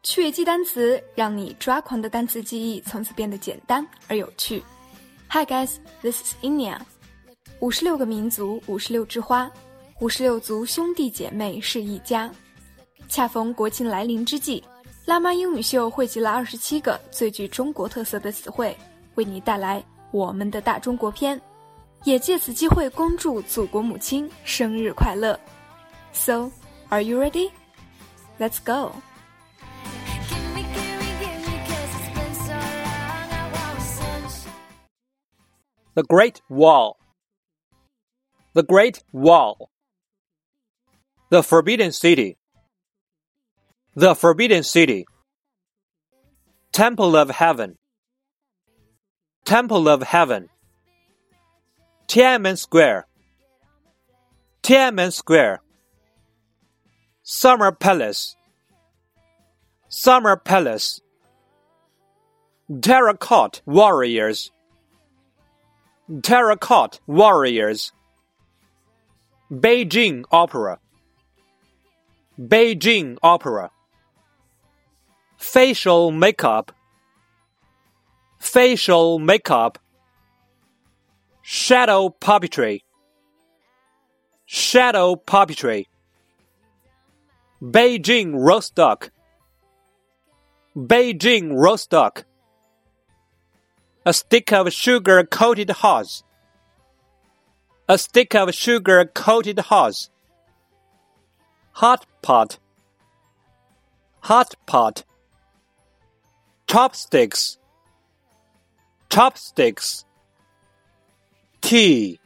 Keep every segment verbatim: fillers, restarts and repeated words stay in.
趣味记单词，让你抓狂的单词记忆从此变得简单而有趣。Hi guys, this is Inia。五十六个民族，五十六枝花，五十六族兄弟姐妹是一家。恰逢国庆来临之际，辣妈英语秀汇集了二十七个最具中国特色的词汇，为你带来我们的大中国篇，也借此机会恭祝祖国母亲生日快乐。So, are you ready? Let's go! The Great Wall. The Great Wall. The Forbidden City. The Forbidden City. Temple of Heaven. Temple of Heaven. Tiananmen Square. Tiananmen Square. Summer Palace. Summer Palace. Terracotta Warriors. Terracotta Warriors. Beijing Opera. Beijing Opera. Facial makeup. Facial makeup. Shadow puppetry. Shadow puppetry. Beijing roast duck. Beijing roast duck. A stick of sugar-coated horse. A stick of sugar-coated horse. Hot pot. Hot pot. Chopsticks. Chopsticks. Tea.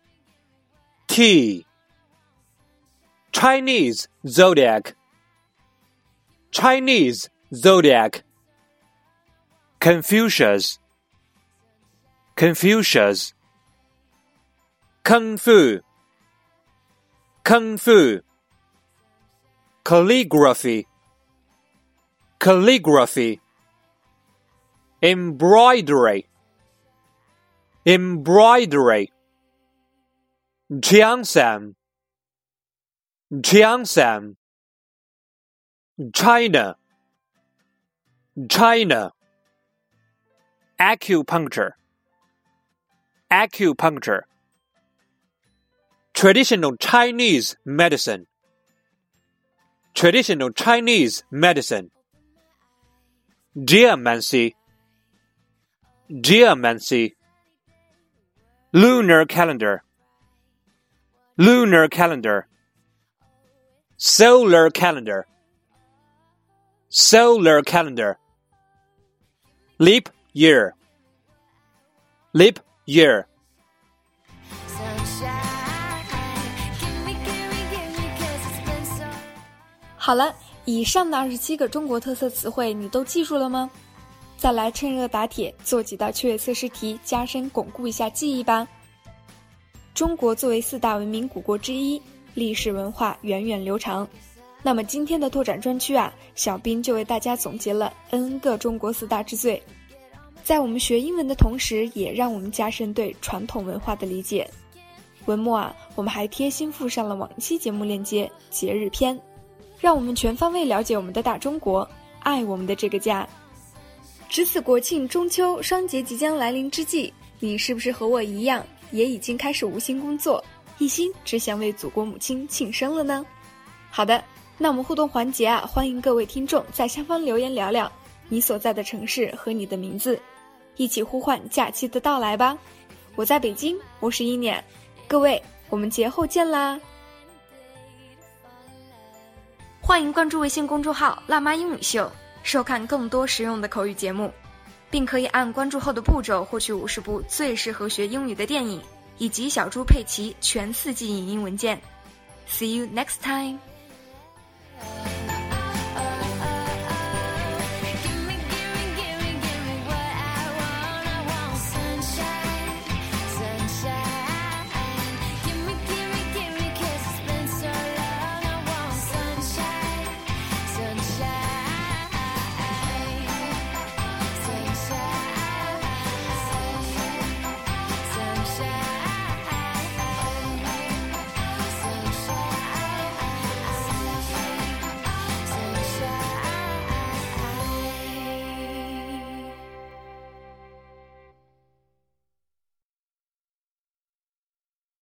Tea. Chinese zodiac. Chinese zodiac. Confucius. Confucius. Kung Fu. Kung Fu. Calligraphy. Calligraphy. Embroidery. Embroidery. Jiangshan. Jiangshan. China. China. Acupuncture. Acupuncture. Traditional Chinese medicine. Traditional Chinese medicine. Geomancy. Geomancy. Lunar calendar. Lunar calendar. Solar calendar. Solar calendar. Leap year. Leap year. 好了，以上的二十七个中国特色词汇你都记住了吗？再来趁热打铁，做几道趣味测试题，加深巩固一下记忆吧。中国作为四大文明古国之一，历史文化源远流长。那么今天的拓展专区啊，小兵就为大家总结了 N 个中国四大之最，在我们学英文的同时，也让我们加深对传统文化的理解。文末啊，我们还贴心附上了往期节目链接，节日篇，让我们全方位了解我们的大中国，爱我们的这个家。值此国庆中秋双节即将来临之际，你是不是和我一样，也已经开始无心工作，一心只想为祖国母亲庆生了呢？好的，那我们互动环节啊，欢迎各位听众在下方留言聊聊你所在的城市和你的名字，一起呼唤假期的到来吧。我在北京，我是一年，各位，我们节后见啦！欢迎关注微信公众号辣妈英语秀，收看更多实用的口语节目，并可以按关注后的步骤获取五十部最适合学英语的电影，以及小猪佩奇全四季影音文件。See you next time!